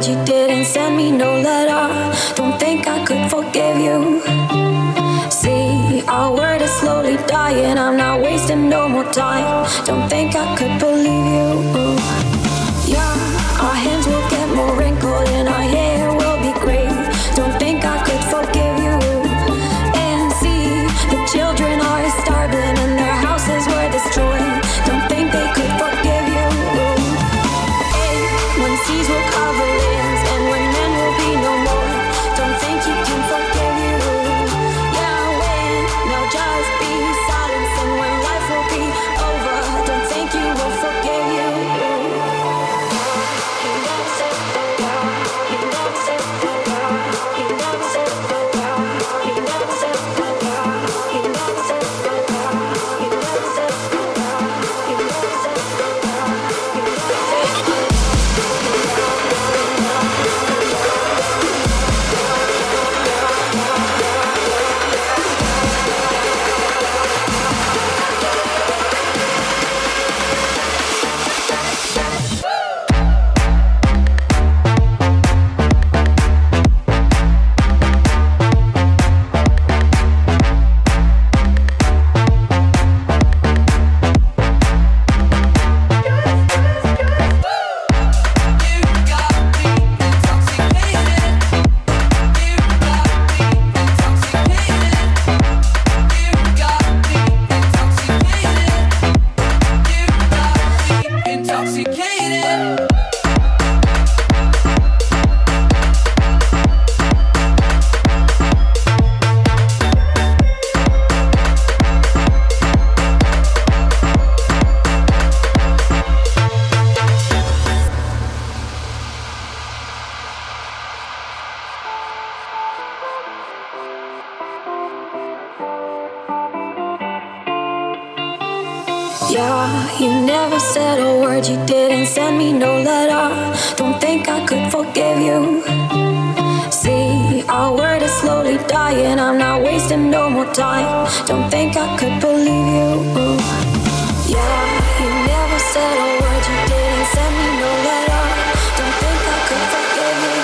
word, you didn't send me no letter. Don't think I could forgive you. See, our word is slowly dying. I'm not wasting no more time. Don't think I could believe you. Yeah, our hands will get more wrinkled and our hair will be gray. Don't think I could forgive you. And see, the children are starving and their houses were destroyed. Don't think they could forgive you. Hey, when seas will cover lands and when men will be no more. Don't think you can forgive you. Yeah, when there'll just be silence and when life will be over. Don't think you will forgive you. Yeah, you never said a word, you didn't send me no letter. Don't think I could forgive you. See, our word is slowly dying. I'm not wasting no more time. Don't think I could believe you. Yeah, you never said a word, you didn't send me no letter. Don't think I could forgive you.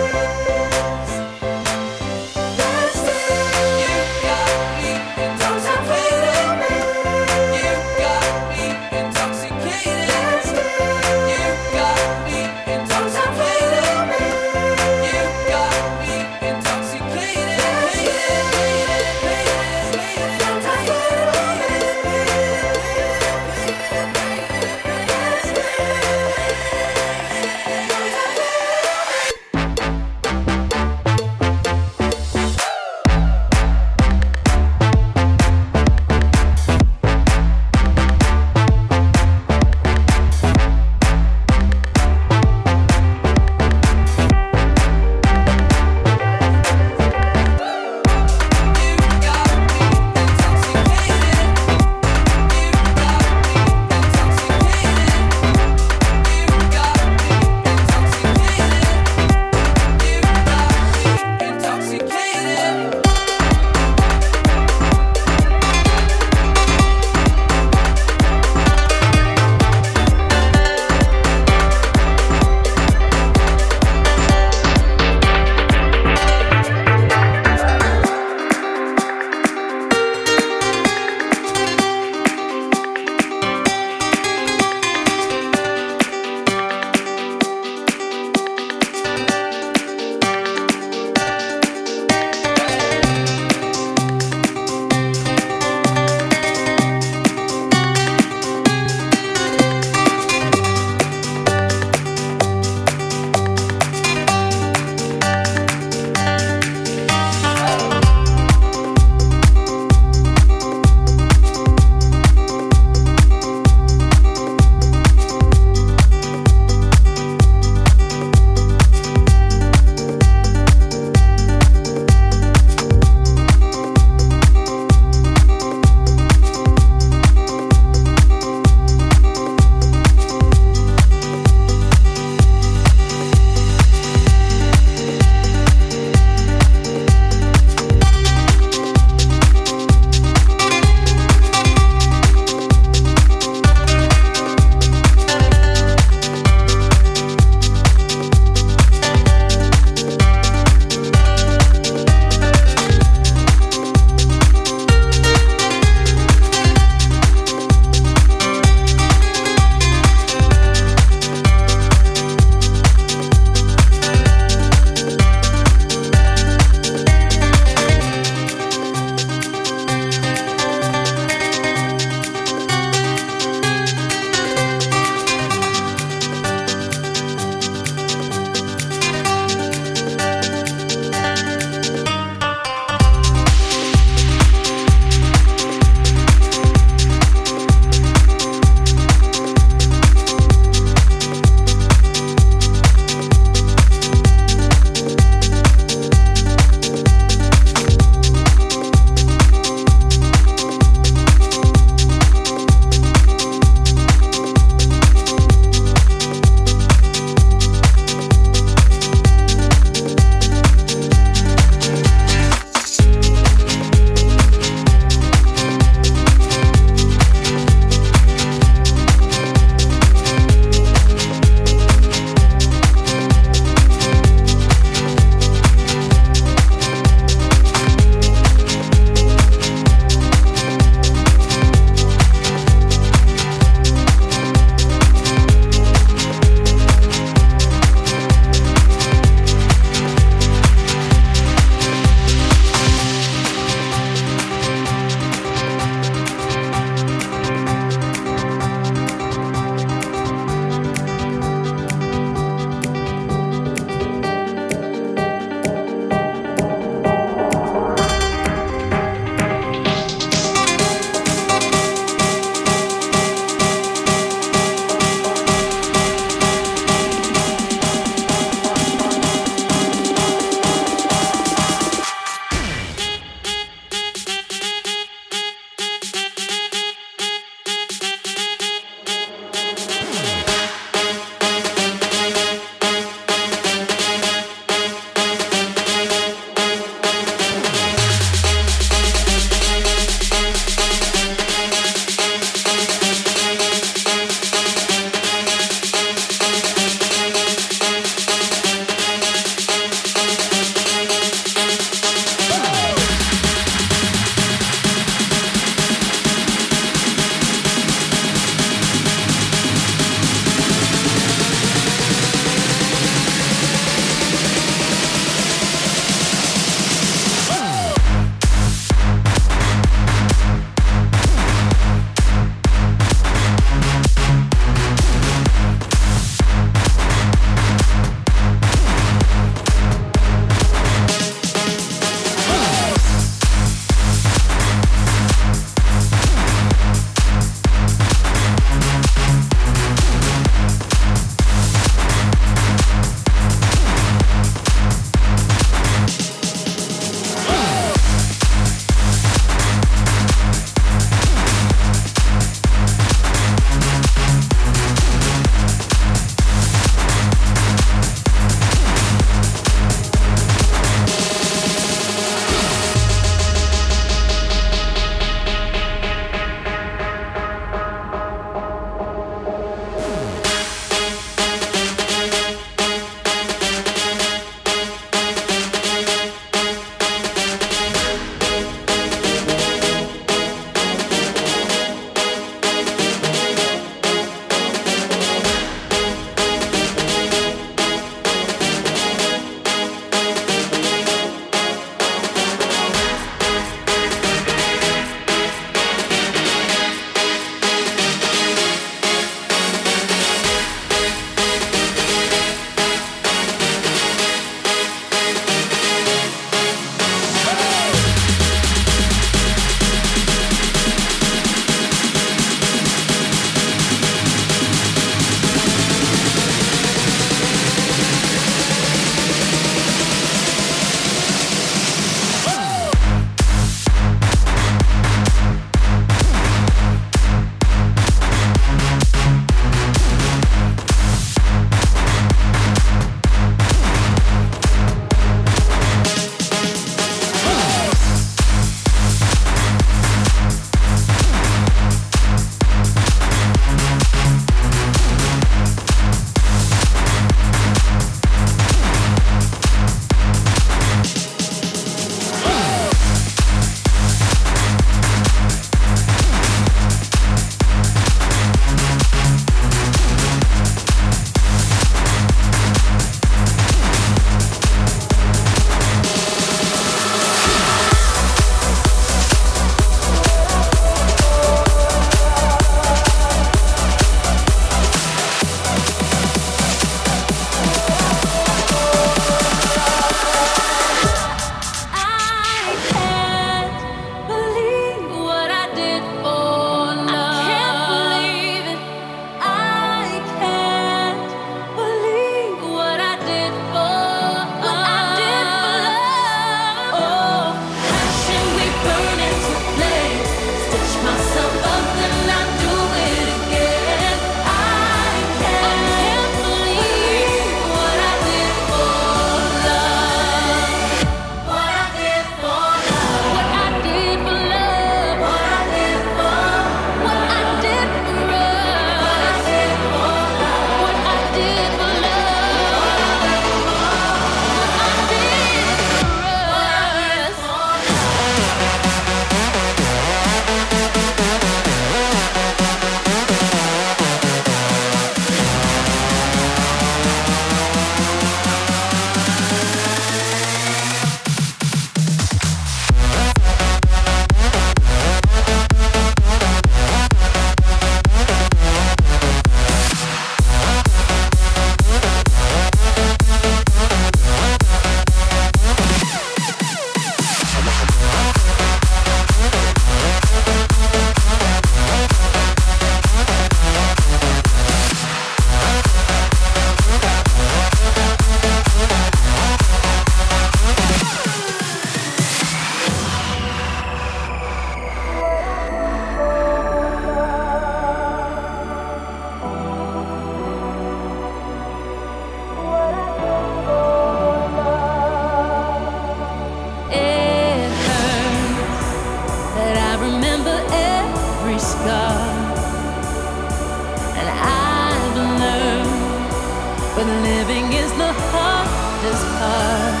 living is the hardest part.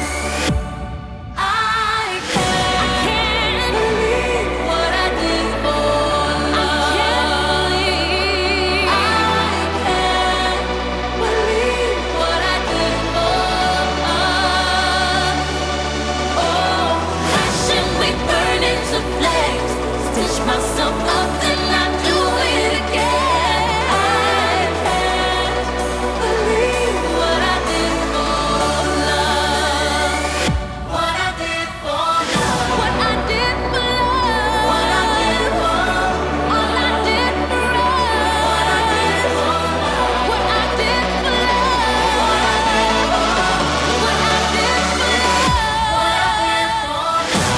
Myself up and I do it again. I can't believe what I did for love. What I did for love. What I did for love. What I did for love. All I did for love. What I did for love. What I did for love. What I did for love. What I did for love. What I did for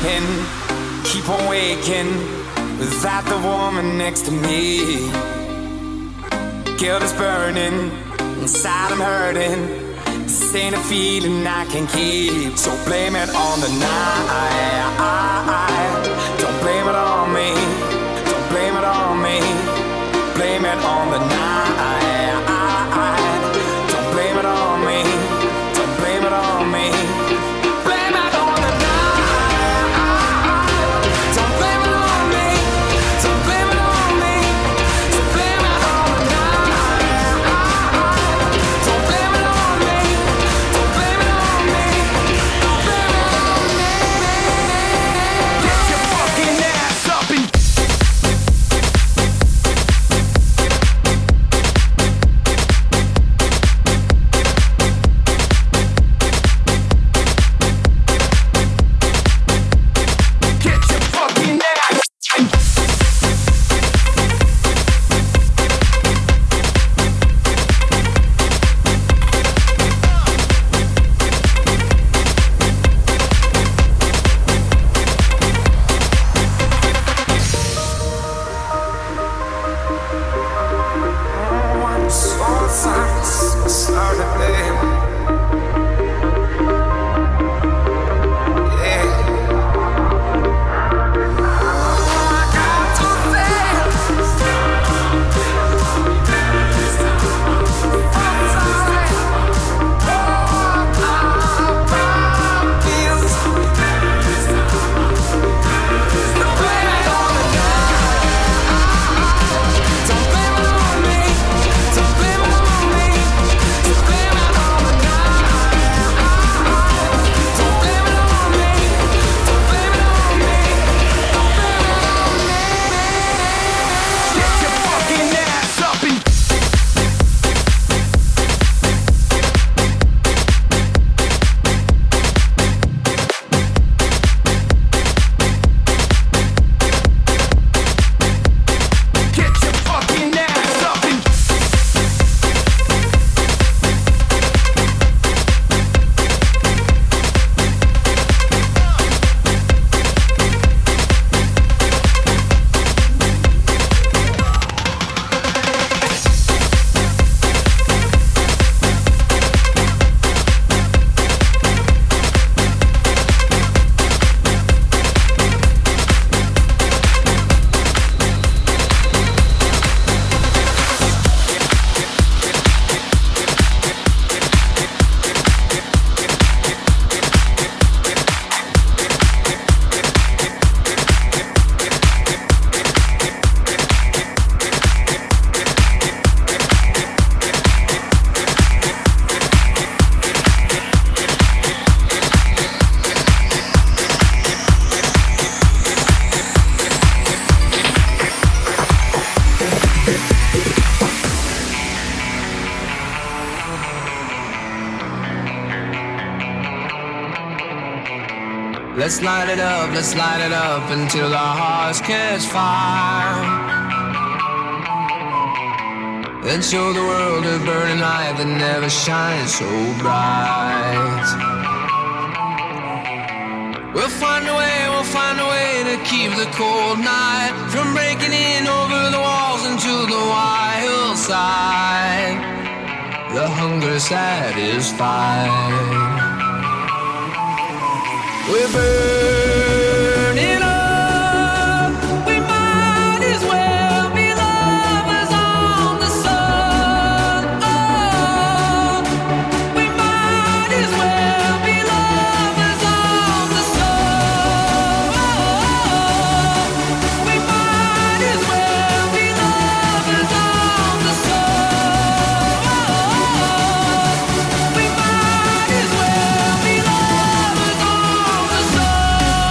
sleeping, keep on waking without the woman next to me. Guilt is burning, inside I'm hurting. This ain't a feeling I can keep. So blame it on the night. Don't blame it on me. Don't blame it on me. Blame it on the night. Don't blame it on me. Don't blame it on me. Blame it on the night. Don't blame it on me. Don't blame it on me. So blame it on the night. Don't blame it on me. Don't blame it on me. Don't blame it on me. Get your fucking ass up and let's light it up until our hearts catch fire. Then show the world a burning light that never shines so bright. We'll find a way to keep the cold night from breaking in over the walls into the wild side. The hunger satisfied. We're burning up. We might as well be lovers on the sun. Oh, we might as well be lovers on the sun. Oh, we might as well be lovers on the sun. Oh, we might as well be lovers on the sun.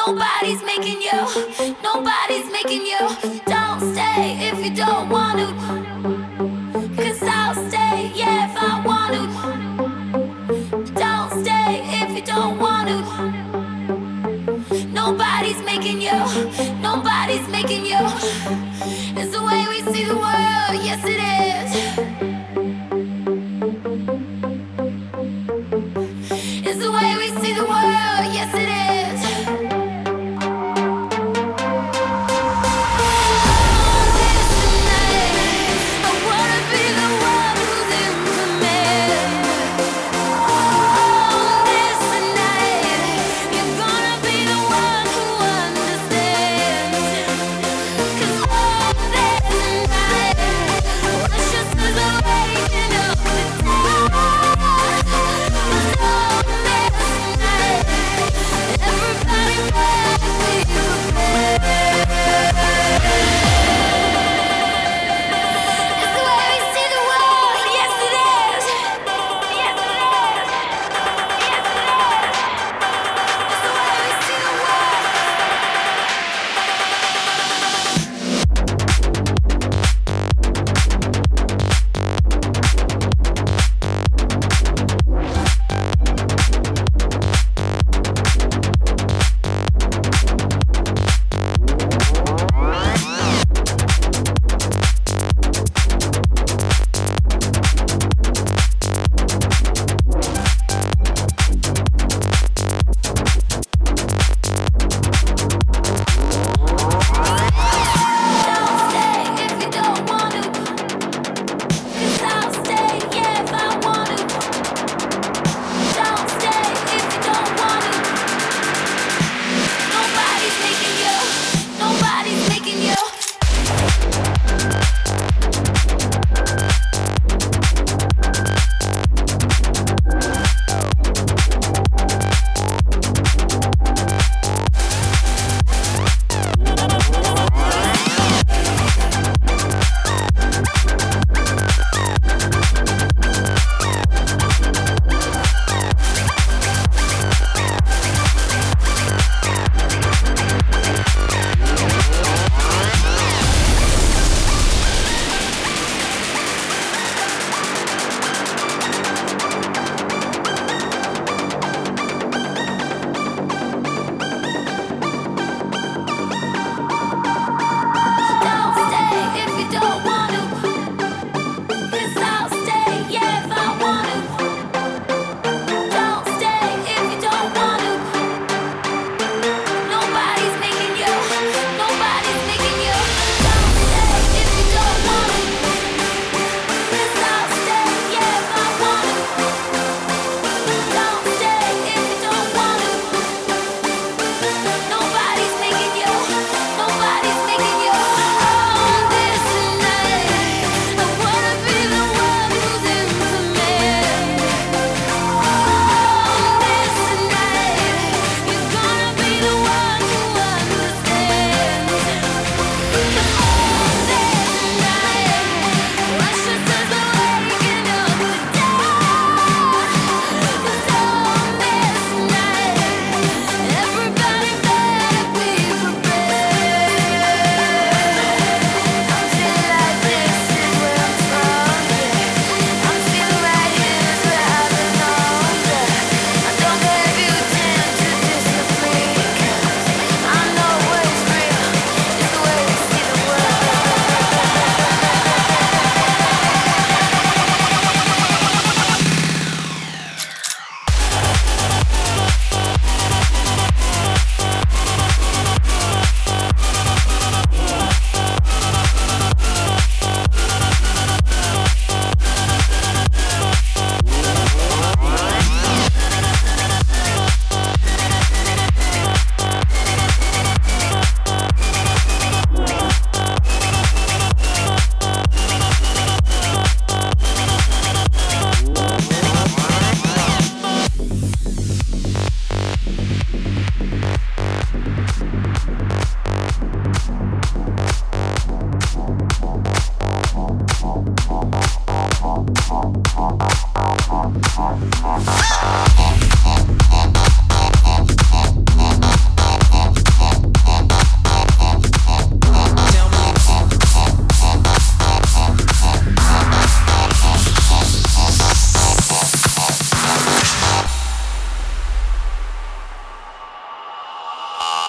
Nobody's making you. Nobody's making you. Don't stay if you don't want to. 'Cause I'll stay, yeah, if I want to. Don't stay if you don't want to. Nobody's making you. Nobody's making you. It's the way we see the world, yes it is. It's the way we see the world, yes it is. You're gonna be the one who understands.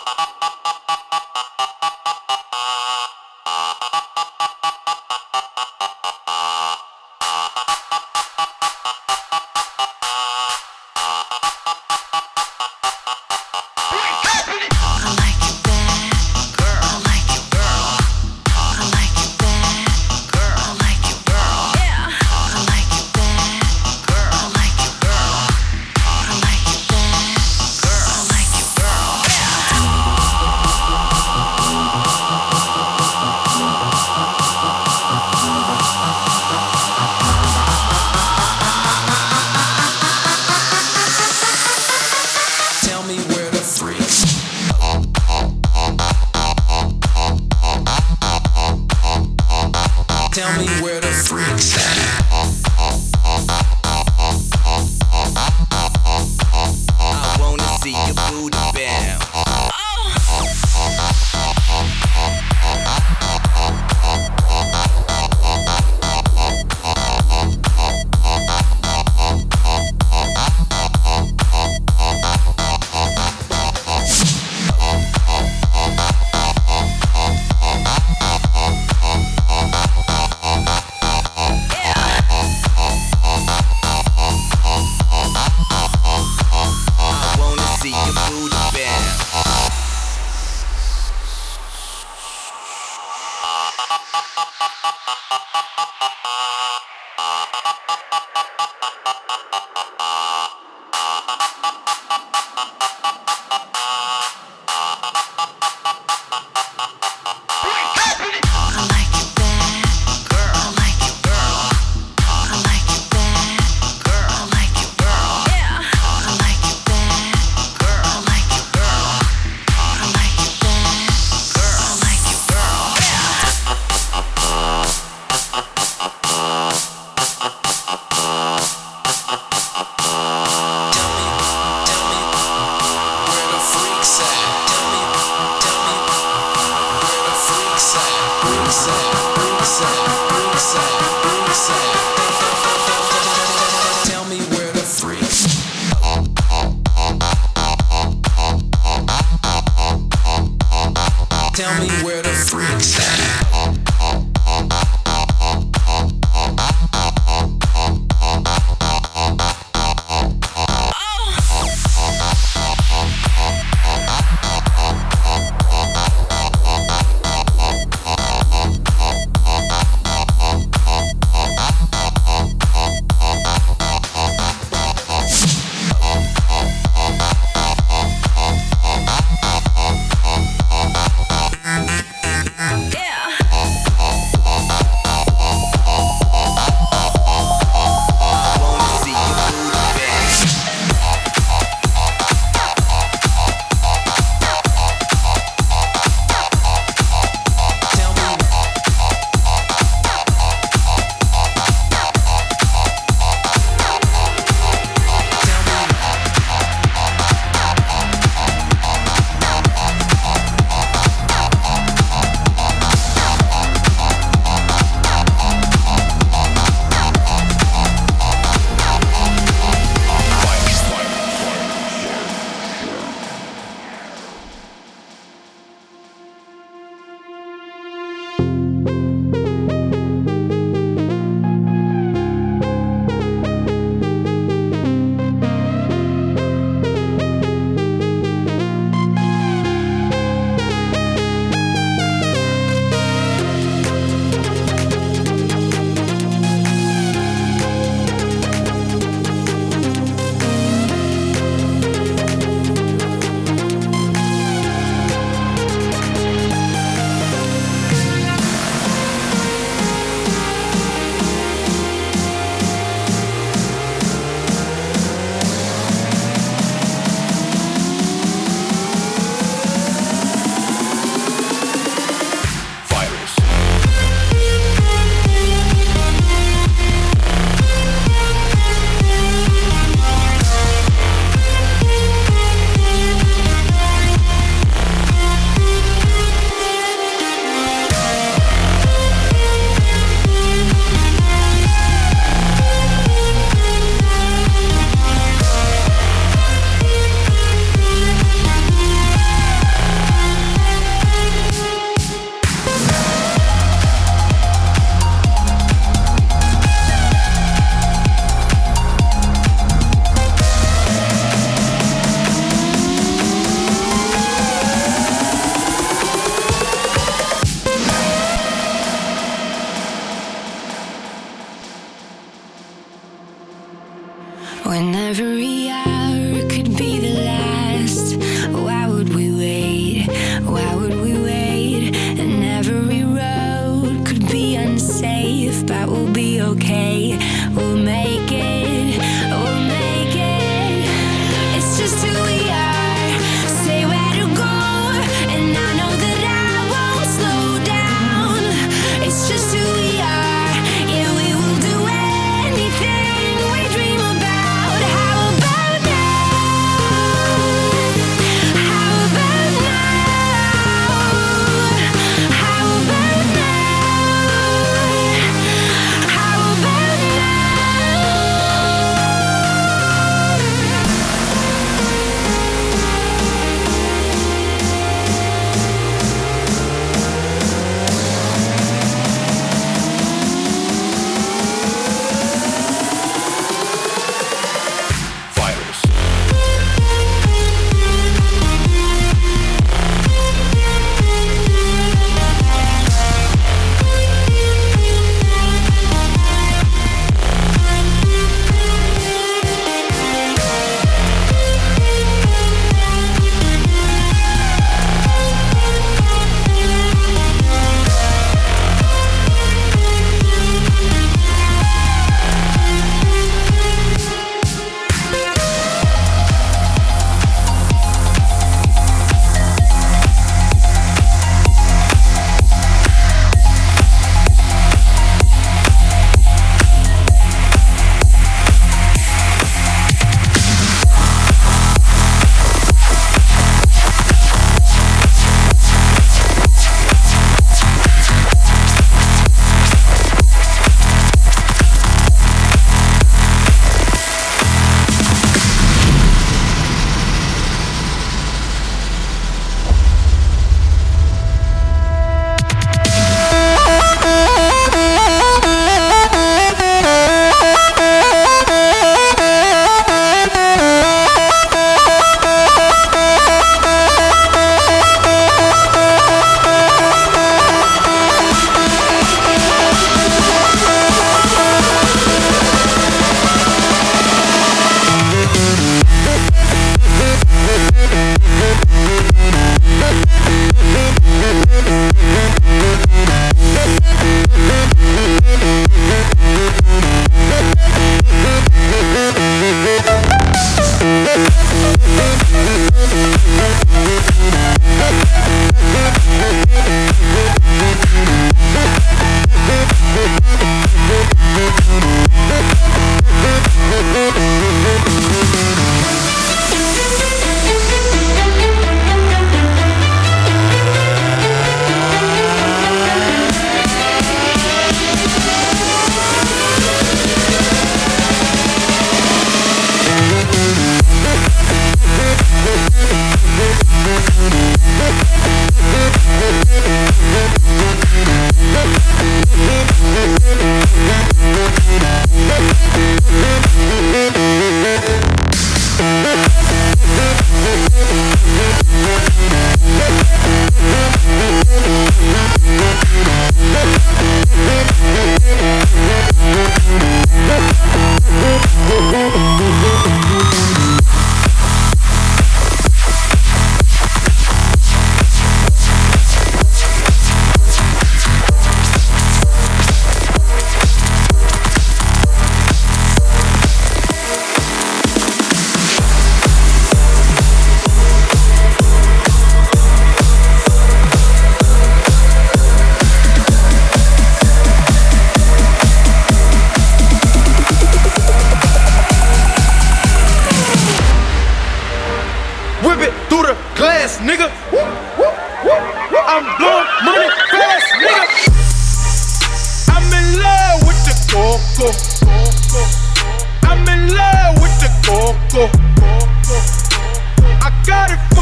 Tell me where the freaks at. I wanna see your booty bounce. Tell me where the freaks. Tell me where the freaks at. Yeah.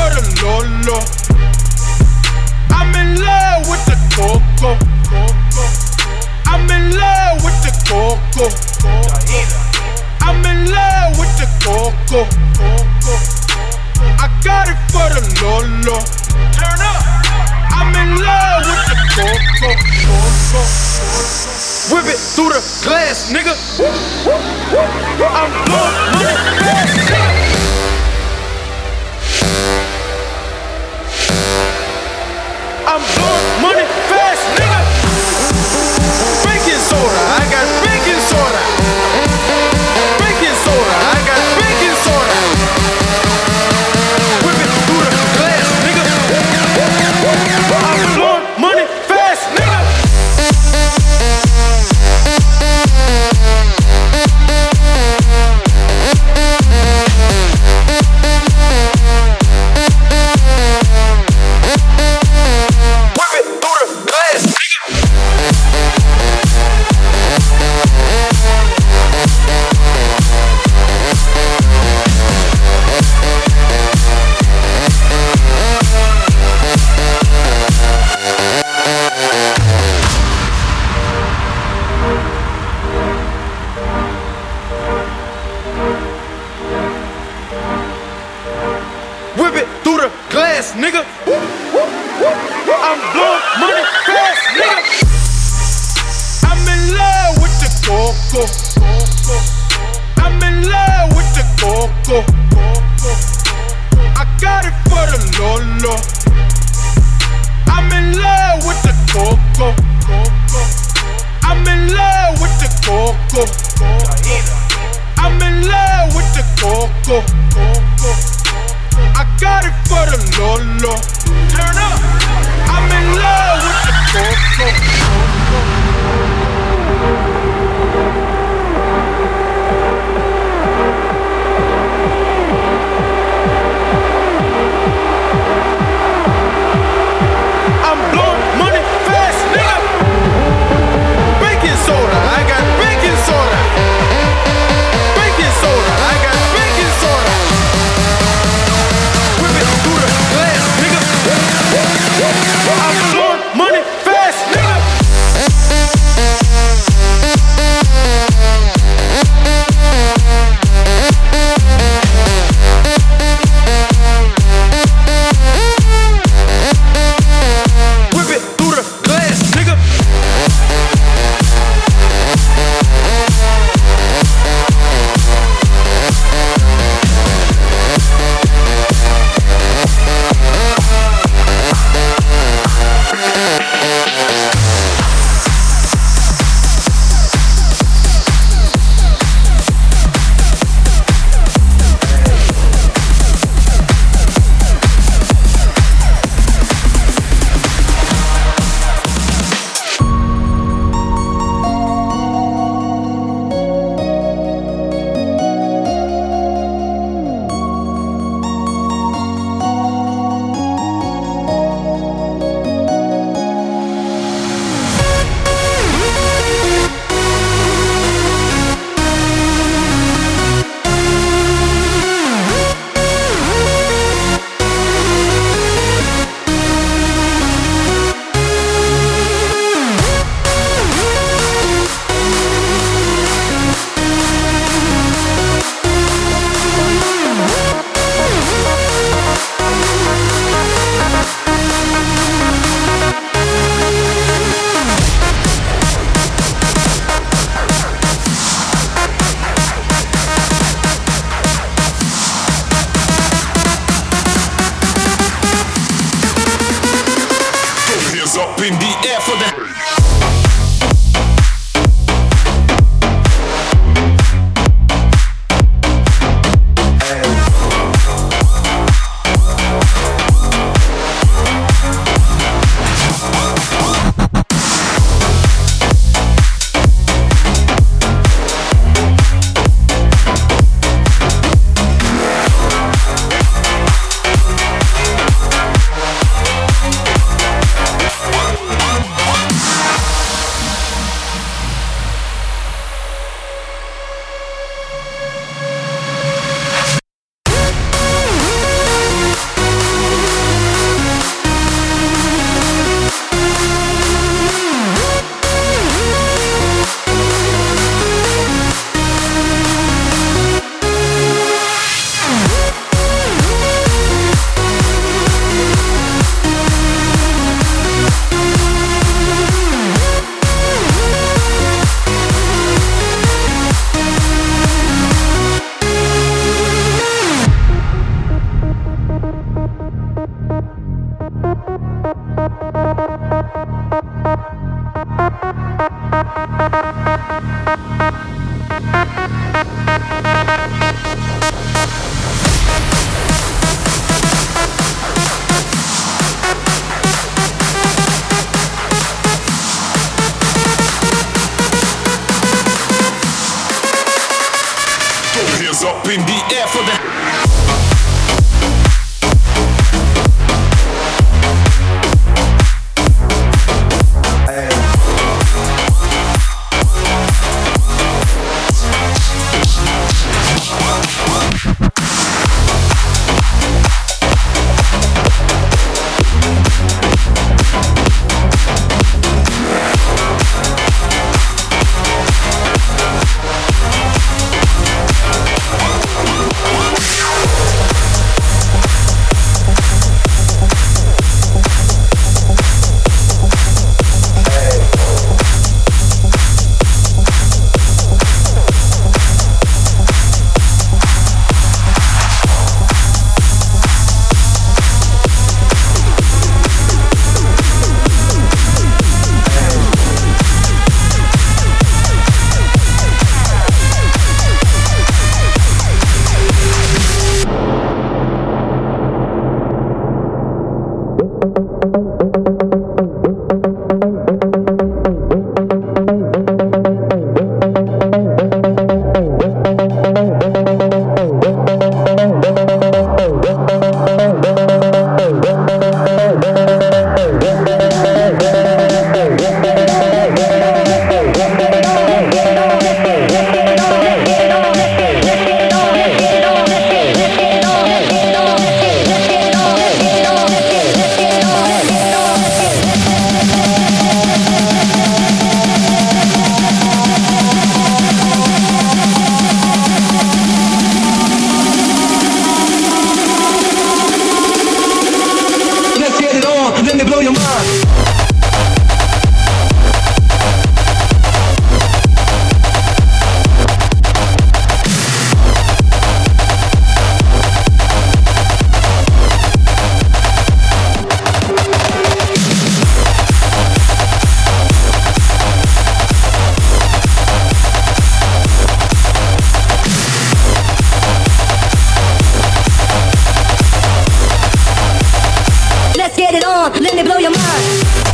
the Lolo. I'm in love with the coco. I'm in love with the coco. I'm in love with the coco. I got it for the Lolo. Turn up. I'm in love with the coco. Whip it through the glass, nigga. I'm blowing money fast, nigga. I'm blowing money fast, nigga. Baking soda, I got baking soda. Baking soda, I got baking soda. Whip it through the glass, nigga. I'm blowing money fast, nigga. Whip it through the glass, nigga. I'm blowing money fast, nigga. I'm in love with the coco. I'm in love with the coco. I got it for the Lolo. I'm in love with the coco. I'm in love with the coco. I'm in love with the coco. I got it for the Lolo. Turn up. I'm in love with the I'm blowing money fast, nigga. Baking soda, I got baking soda. Baking soda, I got baking soda. Whip it through the glass, nigga. I'm blowing money fast, nigga. Whip it through the glass, nigga. Up in the air for the let me blow your mind. Let's get it on, let me blow your mind.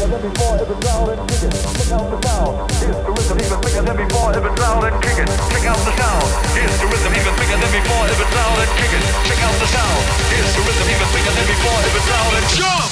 than before. If it's loud and kick it, check out the sound. Here's the rhythm even bigger than before. If it's loud and kick it, check out the sound. Here's the rhythm even bigger than before. If it's loud and kick it, check out the sound. Here's the rhythm even bigger than before. If it's loud and jump.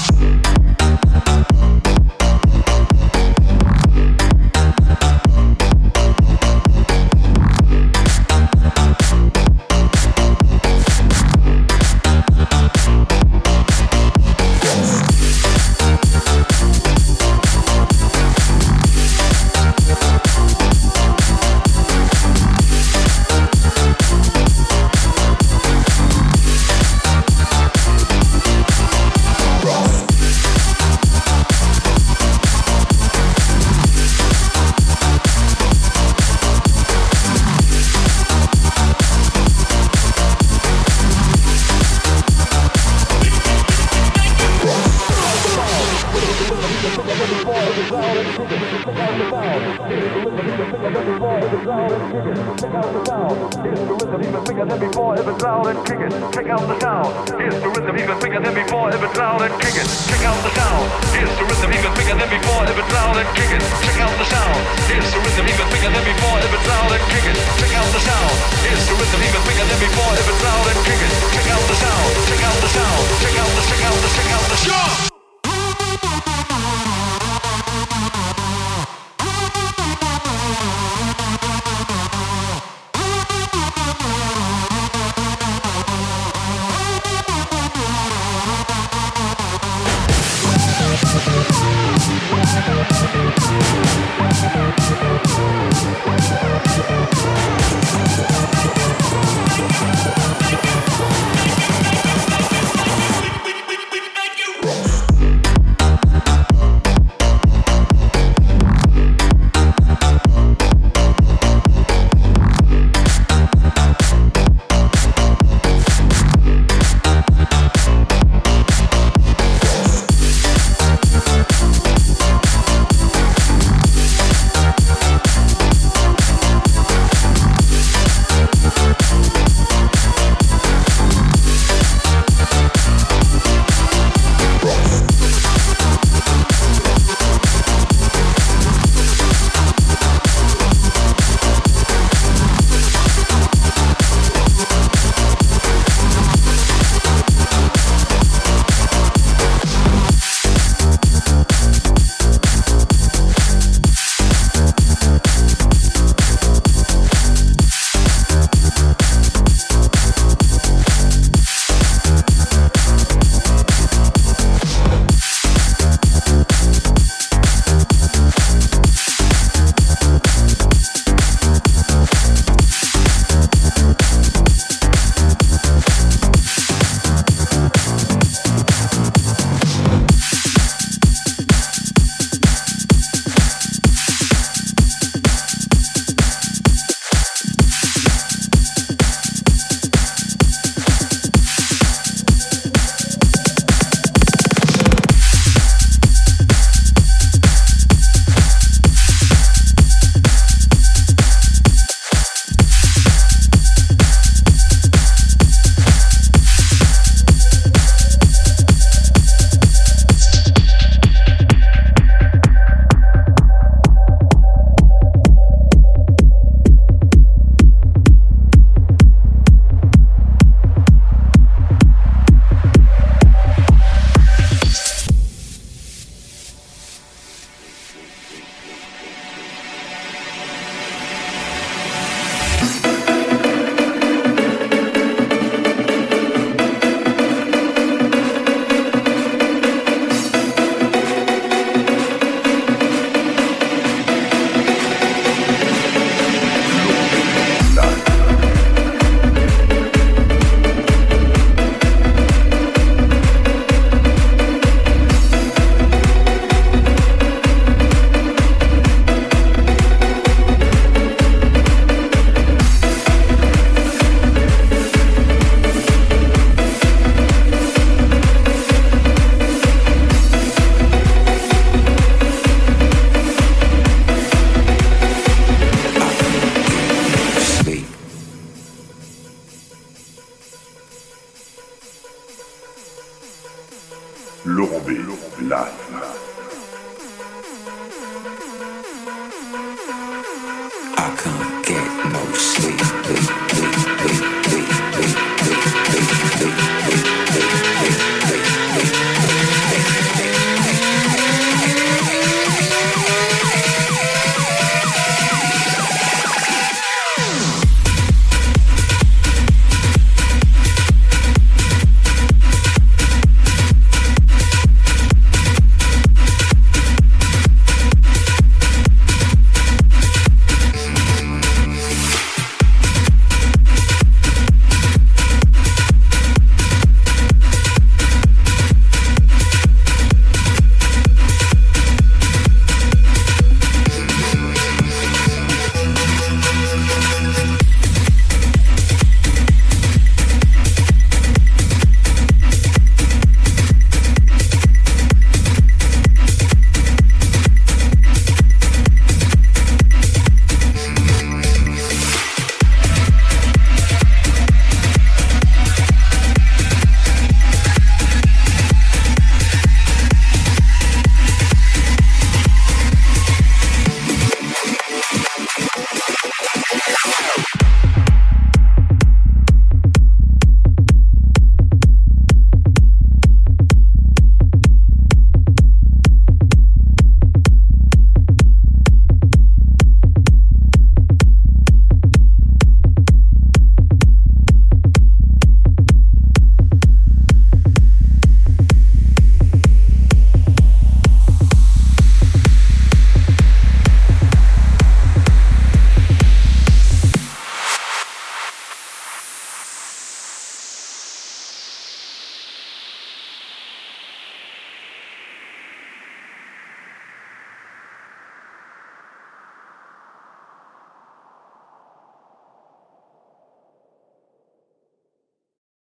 sleeping.